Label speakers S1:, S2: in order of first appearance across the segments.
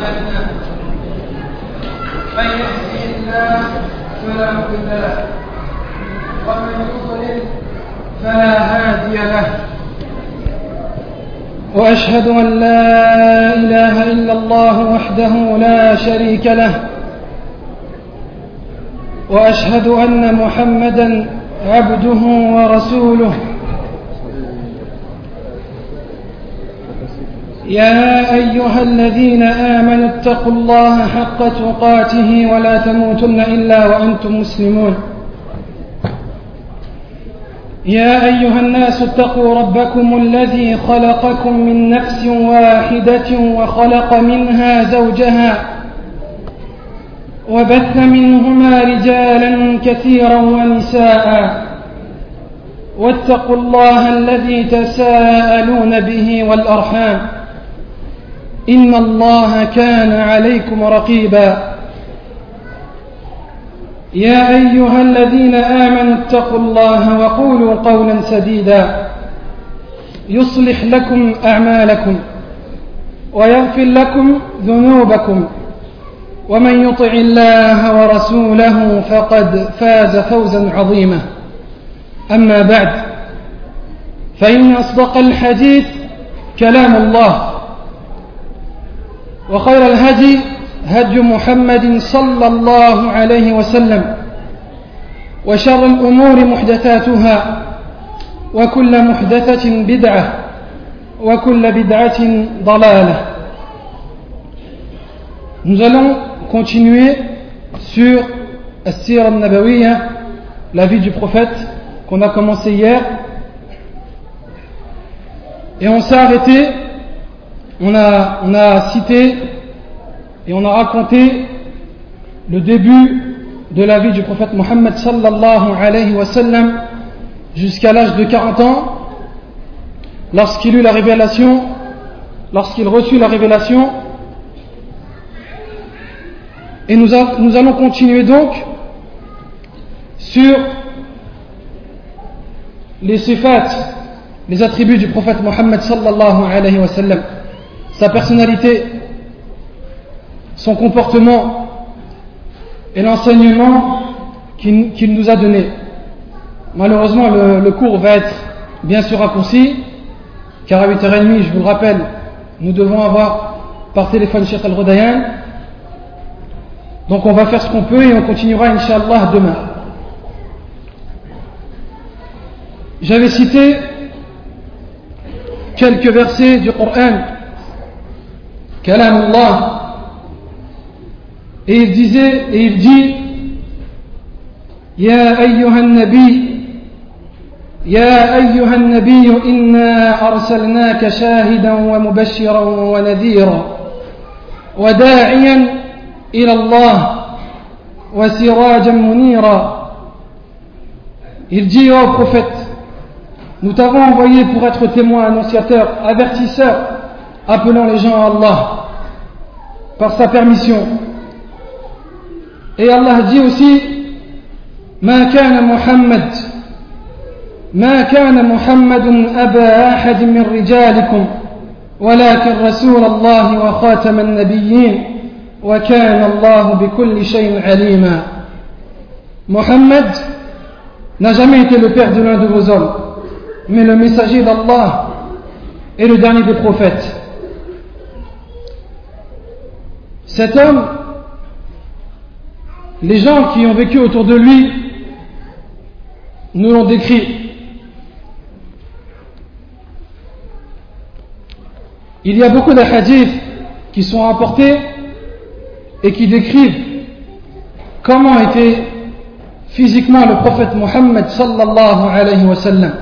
S1: أعمالنا من يهده الله فلا مضل له ومن يضلل فلا هادي له وأشهد أن لا إله إلا الله وحده لا شريك له وأشهد أن محمدًا عبده ورسوله يا أيها الذين آمنوا اتقوا الله حق تقاته ولا تموتن إلا وأنتم مسلمون يا أيها الناس اتقوا ربكم الذي خلقكم من نفس واحدة وخلق منها زوجها وبث منهما رجالا كثيرا ونساء واتقوا الله الذي تساءلون به والأرحام إن الله كان عليكم رقيبا يا أيها الذين آمنوا اتقوا الله وقولوا قولا سديدا يصلح لكم أعمالكم ويغفر لكم ذنوبكم ومن يطع الله ورسوله فقد فاز فوزا عظيما أما بعد فإن أصدق الحديث كلام الله وخير الهدي هدي محمد صلى الله عليه وسلم وشر الأمور محدثاتها وكل محدثة بدعة وكل بدعة ضلالة. Nous allons continuer sur As-Sira al-Nabawiyya, la vie du prophète, qu'on a commencé hier. Et on s'est arrêté, on a cité et on a raconté le début de la vie du prophète Mohammed sallallahu alayhi wa sallam jusqu'à l'âge de 40 ans, lorsqu'il eut la révélation, lorsqu'il reçut la révélation. Et nous allons continuer donc sur les sifat, les attributs du prophète Mohammed sallallahu alayhi wa sallam, sa personnalité, son comportement et l'enseignement qu'il nous a donné. Malheureusement, le cours va être bien sûr raccourci, car à 8h30, je vous le rappelle, nous devons avoir par téléphone Cheikh Al-Rodayan. Donc on va faire ce qu'on peut et on continuera Inch'Allah demain. J'avais cité quelques versets du Coran, Kalamullah, et il dit Ya ayyuhan nabi inna arsalnaka shahidan wa mubashiran wa nadhira wa da'iyan إلى الله وسراجا منيرا. Il dit au prophète, nous t'avons envoyé pour être témoin, annonciateur, avertisseur, appelant les gens à Allah par sa permission. Et Allah dit aussi, ما كان محمد أبا أحد من رجالكم ولكن رسول الله وخاتم النبيين وكان الله بكل شيء عليما. Mohammed n'a jamais été le père de l'un de vos hommes, mais le messager d'Allah et le dernier des prophètes. Cet homme, les gens qui ont vécu autour de lui nous l'ont décrit. Il y a beaucoup de hadiths qui sont rapportés et qui décrivent comment était physiquement le prophète Mohammed sallallahu alayhi wa sallam.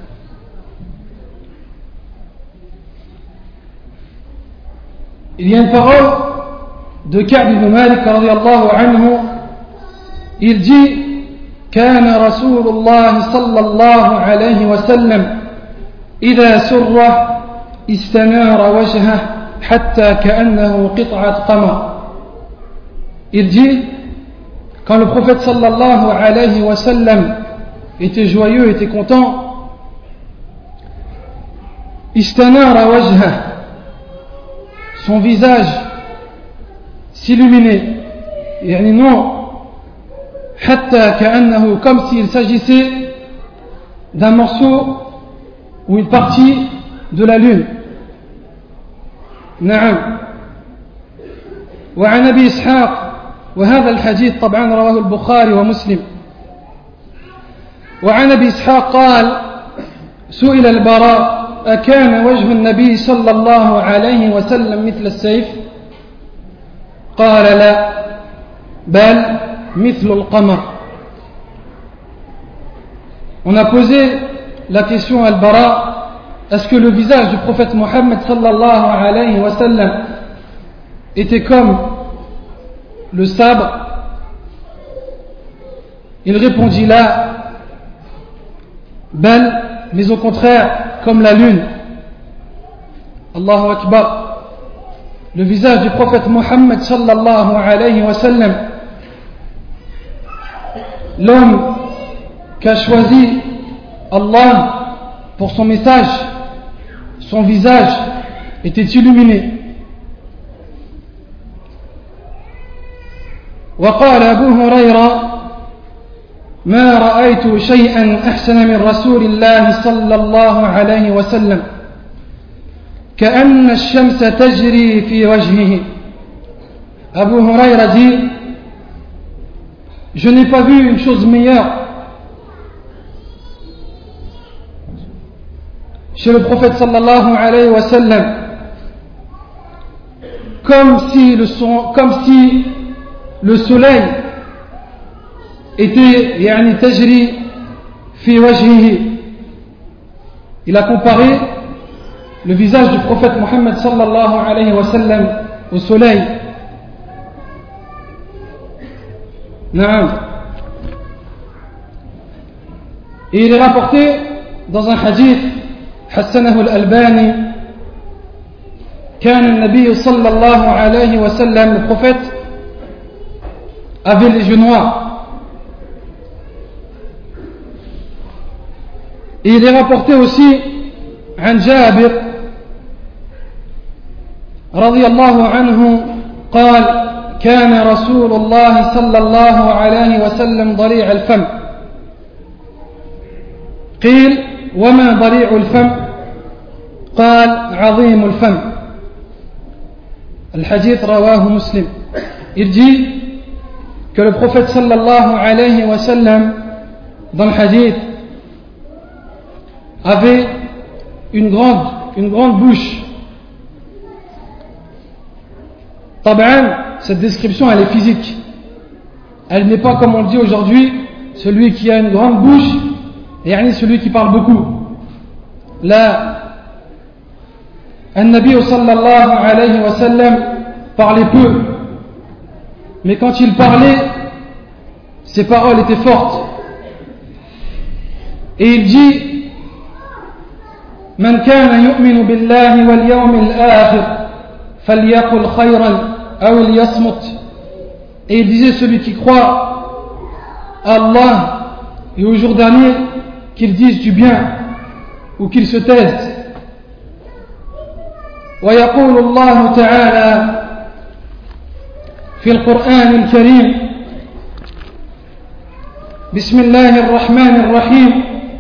S1: Il y a une parole de Ka'b ibn Malik radiyallahu anhu. Il dit كان رسول الله صلى الله عليه وسلم إذا سر استنار وجهه حتى كأنه قطعة قمر. Il dit, quand le prophète sallallahu alayhi wa sallam était joyeux, était content, istanara wajha, son visage s'illuminer. يعني non, حتى كأنه, comme s'il s'agissait d'un morceau ou une partie de la lune. نعم. وعن أبي إسحاق, وهذا الحديث طبعا رواه البخاري ومسلم. وعن أبي إسحاق قال: سئل البراء: أكان وجه النبي صلى الله عليه وسلم مثل السيف؟ قال: لا، بل مثل القمر. On a posé la question à Al-Bara: est-ce que le visage du prophète Mohammed sallallahu alayhi wa sallam était comme le sabre? Il répondit: là, bal, mais au contraire comme la lune. Allahu Akbar. Le visage du prophète Mohammed sallallahu alayhi wa sallam, l'homme qu'a choisi Allah pour son message, son visage était illuminé. وقال أبو هريرة: ما رأيت شيئا أحسن من رسول الله صلى الله عليه وسلم كأن الشمس تجري في وجهه. Abu Huraira dit: je n'ai pas vu une chose meilleure chez le prophète sallallahu alayhi wa sallam, comme si le soleil était yani tajri fi wajhihi. Il a comparé le visage du prophète Mohammed sallallahu alayhi wa sallam au soleil. Naam. Et il est rapporté dans un hadith حسنه الألباني: كان النبي صلى الله عليه وسلم, le prophète avait les yeux noirs. Et il est rapporté aussi عن جابر رضي الله عنه قال: كان رسول الله صلى الله عليه وسلم ضليع الفم. قيل: وما ضليع الفم؟ قال: عظيم الفم. الحديث رواه مسلم. Il dit que le prophète sallallahu alayhi wa sallam, dans le hadith, avait une grande bouche. Taban, cette description elle est physique. Elle n'est pas comme on dit aujourd'hui, celui qui a une grande bouche, et celui qui parle beaucoup. Là, An-Nabi sallallahu alayhi wa sallam parlait peu, mais quand il parlait, ses paroles étaient fortes. Et il dit: Man kana yu'minu billahi wal yawmil akhir falyaqul khayran aw liyasmut. Et il disait: celui qui croit à Allah et au jour dernier, qu'il dise du bien ou qu'il se taise. ويقول الله تعالى في القرآن الكريم: بسم الله الرحمن الرحيم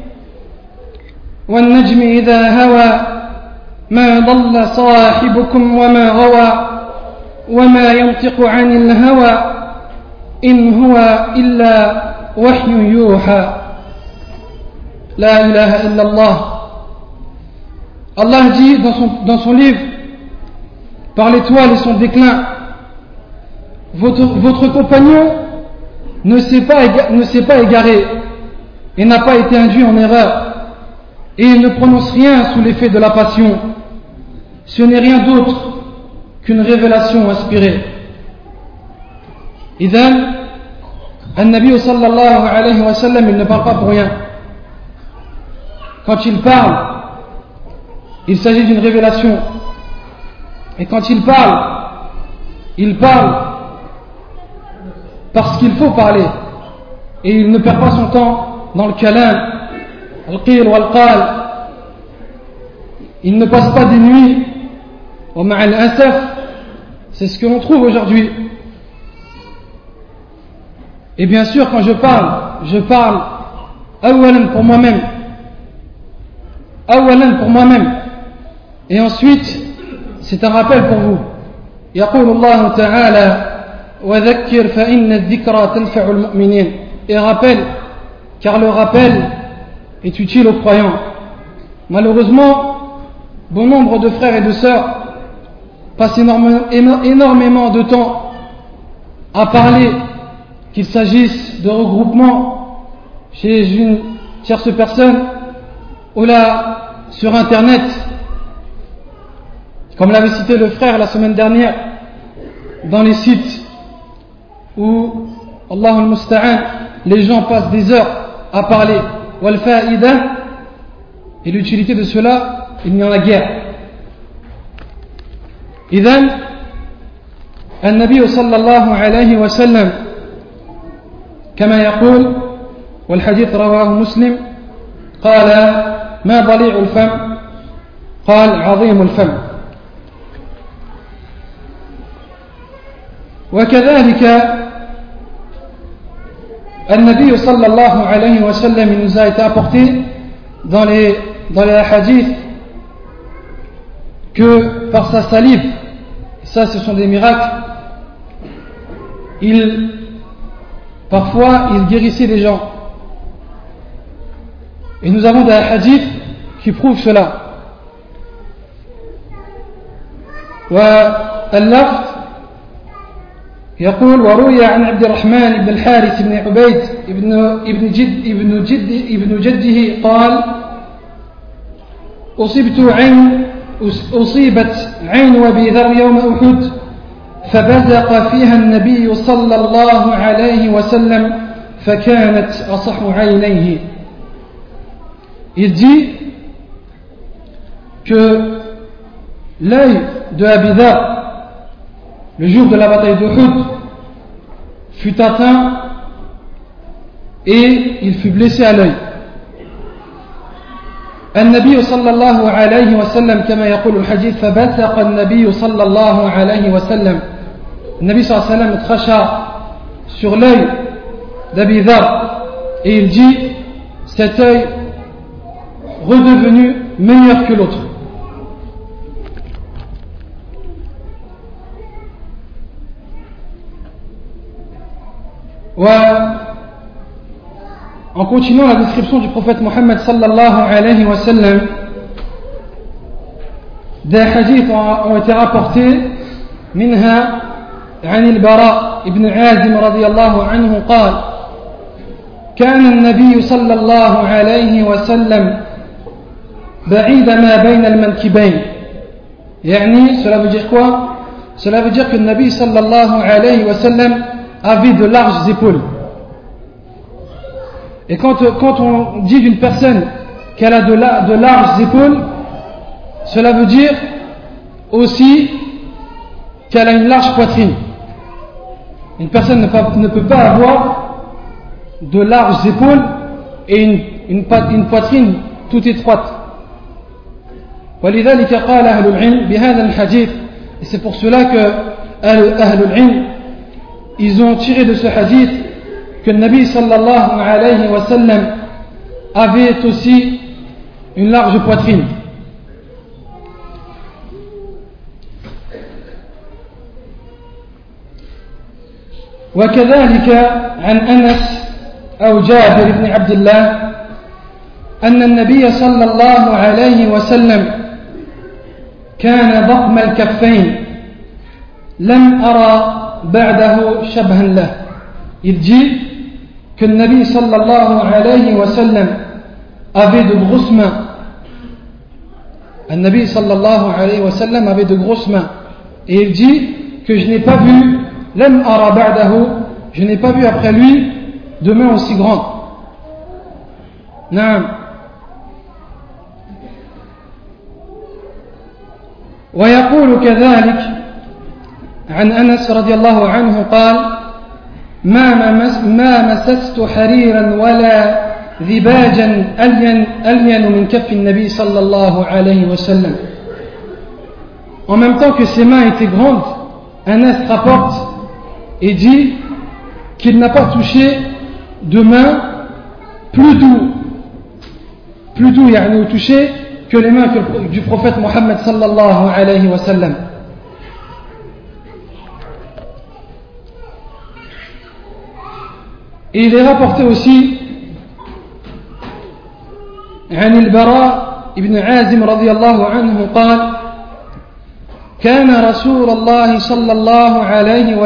S1: والنجم إذا هوى ما ضل صاحبكم وما غوى وما ينطق عن الهوى إن هو إلا وحي يوحى لا إله إلا الله. Allah dit dans son livre, par l'étoile et son déclin, votre compagnon ne s'est pas égaré et n'a pas été induit en erreur, et il ne prononce rien sous l'effet de la passion. Ce n'est rien d'autre qu'une révélation inspirée. Idhan, An-Nabi sallallahu alayhi wa sallam, il ne parle pas pour rien. Quand il parle, il s'agit d'une révélation. Et quand il parle parce qu'il faut parler. Et il ne perd pas son temps dans le kalam, al-qil wal-qal. Il ne passe pas des nuits au ma'al asaf. C'est ce que l'on trouve aujourd'hui. Et bien sûr, quand je parle awalan pour moi-même. Et ensuite, c'est un rappel pour vous. يقول الله تعالى وذكر فإن الذكرى تنفع المؤمنين. Et rappel, car le rappel est utile aux croyants. Malheureusement, bon nombre de frères et de sœurs passent énormément de temps à parler, qu'il s'agisse de regroupement chez une tierce personne ou là sur internet, comme l'avait cité le frère la semaine dernière, dans les sites où Allah al-Musta'an, les gens passent des heures à parler wal fa'ida, et l'utilité de cela, il n'y en a guère. إذن النبي صلى الله عليه وسلم كما يقول والحديث رواه مسلم قال ما ضليع الفم قال عظيم الفم. وكذلك النبي صلى الله عليه وسلم il nous a été apporté dans les hadiths que par sa salive, ça ce sont des miracles, parfois il guérissait les gens. Et nous avons des hadiths qui prouvent cela. واللفظ يقول وروي عن عبد الرحمن بن الحارث بن عبيد ابن جده قال أصيبت عين أبي ذر يوم أحد فبزق فيها النبي صلى الله عليه وسلم فكانت أصح عينيه. Il dit que l'œil de Abi Dharr, le jour de la bataille d'Uhud, fut atteint et il fut blessé à l'œil. النبي صلى الله عليه وسلم كما يقول الحديث فبثق النبي صلى الله عليه وسلم. النبي صلى الله عليه وسلم cracha sur l'œil d'Abi Dharr et il dit cet œil redevenu meilleur que l'autre. En continuant la description du prophète Mohammed sallallahu alayhi wa sallam, des hadiths ont été rapportés منها عن البراء بن عازم رضي الله عنه قال كان النبي صلى الله عليه وسلم بعيد ما بين المنكبين. يعني cela veut dire quoi? Cela veut dire que le Nabi sallallahu alayhi wa sallam avait de larges épaules. Et quand on dit d'une personne qu'elle a de larges épaules, cela veut dire aussi qu'elle a une large poitrine. Une personne ne peut pas avoir de larges épaules et une poitrine toute étroite. ولذلك قال أهل العلم بهذا الحديث, et c'est pour cela que أهل العلم ils ont tiré de ce hadith que le Nabi sallallahu alayhi wa sallam avait aussi une large poitrine. وكذلك عن أنس أو جابر بن عبد الله أن النبي صلى الله عليه وسلم كان ضخم الكفين لم أرى بعده شبها له. Il dit que le Nabi sallallahu alayhi wa sallam avait de grosses mains. Le Nabi sallallahu alayhi wa sallam avait de grosses mains. Et il dit que je n'ai pas vu lam ara ba'dahu, je n'ai pas vu après lui de mains aussi grandes. Naam. ويقول كذلك عن أنس رضي الله عنه قال ما مسست حريرا ولا ذباجا ألين من كف النبي صلى الله عليه وسلم. En même temps que ses mains étaient grandes, Anas rapporte et dit qu'il n'a pas touché de main plus doux يعني touché que les mains du prophète Mohammed sallallahu alayhi wa sallam. Et il est rapporté aussi عن البراء ابن عازم رضي الله عنه قال كان رسول الله صلى الله عليه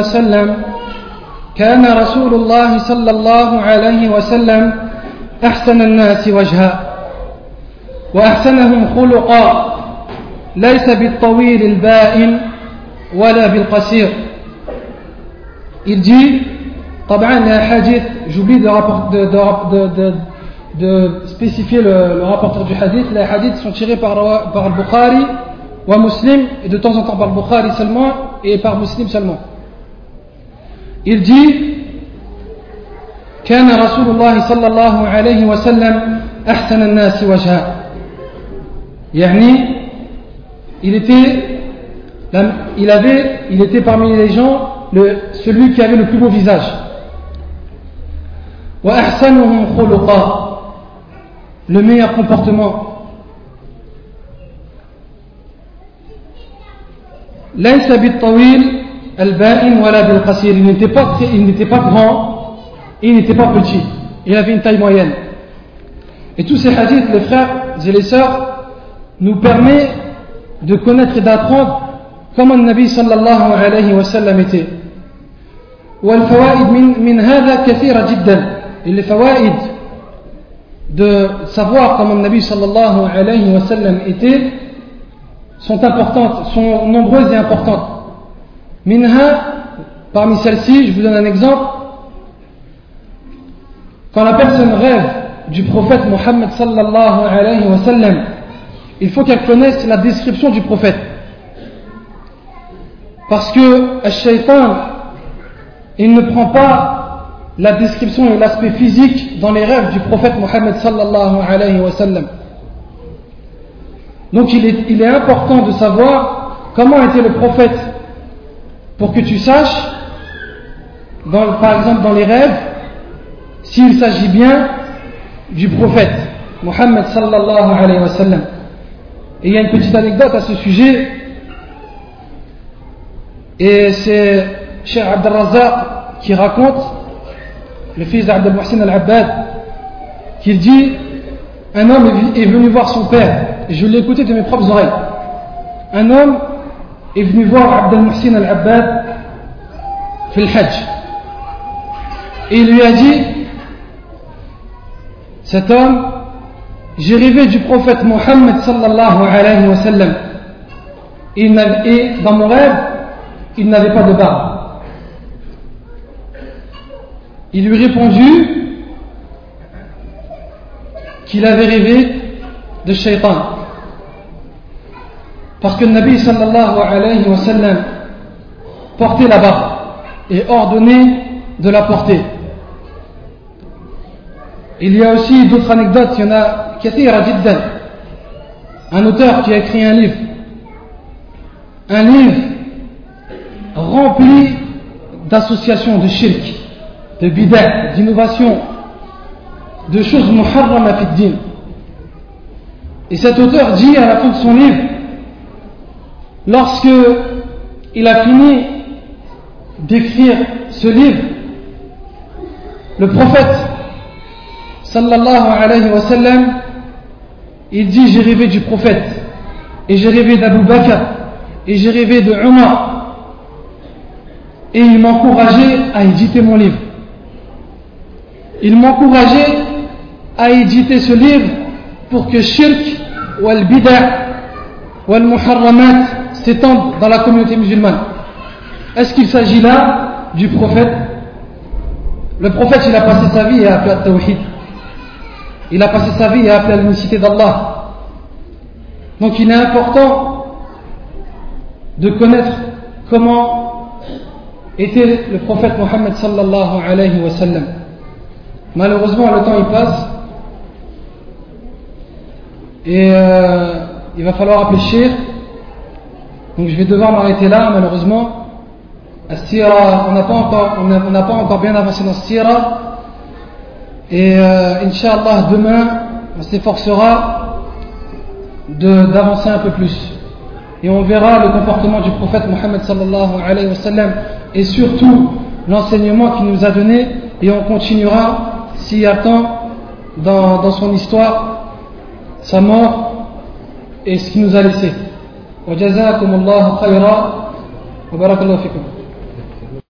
S1: وسلم أحسن الناس وجها وأحسنهم خلقا ليس بالطويل البائن ولا بالقصير. Il dit طبعا les hadiths, j'oublie de spécifier le rapporteur du hadith. Les hadiths sont tirés par le Bukhari ou Muslim, et de temps en temps par le Bukhari seulement et par Muslim seulement. Il dit كان رسول الله صلى الله عليه وسلم أحسن الناس وجها يعني il était parmi les gens celui qui avait le plus beau visage. وأحسنهم خلقا le meilleur comportement. ليس بالطويل البائن ولا بالقصير, il n'était pas grand et il n'était pas petit, il avait une taille moyenne. Et tous ces hadiths, les frères et les sœurs, nous permettent de connaître et d'apprendre comment le Nabi sallallahu alayhi wa sallam était. والفوائد من هذا كثيرة جدا. Et les fawaïd de savoir comment le Nabi sallallahu alayhi wa sallam était sont importantes, sont nombreuses et importantes. Minha, parmi celles-ci, je vous donne un exemple. Quand la personne rêve du prophète Mohammed sallallahu alayhi wa sallam, il faut qu'elle connaisse la description du prophète. Parce que le shaitan, il ne prend pas la description et l'aspect physique dans les rêves du prophète Mohammed sallallahu alayhi wa sallam. Donc il est important de savoir comment était le prophète pour que tu saches, par exemple dans les rêves, s'il s'agit bien du prophète Mohammed sallallahu alayhi wa sallam. Et il y a une petite anecdote à ce sujet, et c'est Cheikh Abdel Razak qui raconte, le fils d'Abdel Muhsin al-Abbad, qui dit un homme est venu voir son père, et je l'ai écouté de mes propres oreilles. Un homme est venu voir Abdel Muhsin al-Abbad في الحج, et il lui a dit, cet homme, j'ai rêvé du prophète Mohammed sallallahu alayhi wa sallam, et dans mon rêve il n'avait pas de barbe. Il lui répondit qu'il avait rêvé de shaitan, parce que le Nabi sallallahu alayhi wa sallam portait la barbe et ordonnait de la porter. Il y a aussi d'autres anecdotes, il y en a kathira jiddan. Un auteur qui a écrit un livre rempli d'associations de shirk, de bid'a, d'innovation, de choses muharrama fi din. Et cet auteur dit à la fin de son livre, lorsque il a fini d'écrire ce livre, le prophète sallallahu alayhi wa sallam, il dit, j'ai rêvé du prophète, et j'ai rêvé d'Abu Bakr, et j'ai rêvé de Umar, et il m'encourageait à éditer mon livre. Il m'encourageait à éditer ce livre pour que shirk wal bid'a wal muharramat s'étendent dans la communauté musulmane. Est-ce qu'il s'agit là du prophète? Le prophète, il a passé sa vie à appeler à tawhid. Il a passé sa vie à appeler à l'unicité d'Allah. Donc il est important de connaître comment était le prophète Mohammed sallallahu alayhi wa sallam. Malheureusement, le temps il passe et il va falloir réfléchir. Donc je vais devoir m'arrêter là, malheureusement. As-Sira, on n'a pas encore bien avancé dans Sira. Et Inch'Allah, demain, on s'efforcera d'avancer un peu plus. Et on verra le comportement du prophète Mohammed sallallahu alayhi wa sallam et surtout l'enseignement qu'il nous a donné, et on continuera, s'il y a temps, dans son histoire, sa mort et ce qu'il nous a laissé. Wa jazakumullahu khayra wa barakallahu fikum.